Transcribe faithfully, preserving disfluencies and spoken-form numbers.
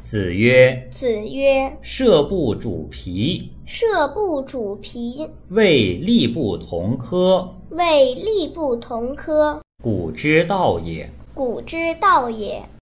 子曰： 子曰： 射不主皮， 射不主皮， 谓力不同科， 谓力不同科， 古之道也。 古之道也。